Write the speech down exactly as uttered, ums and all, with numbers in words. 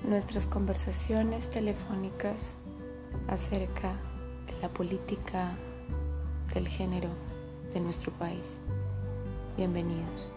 nuestras conversaciones telefónicas acerca de la política del género de nuestro país. Bienvenidos.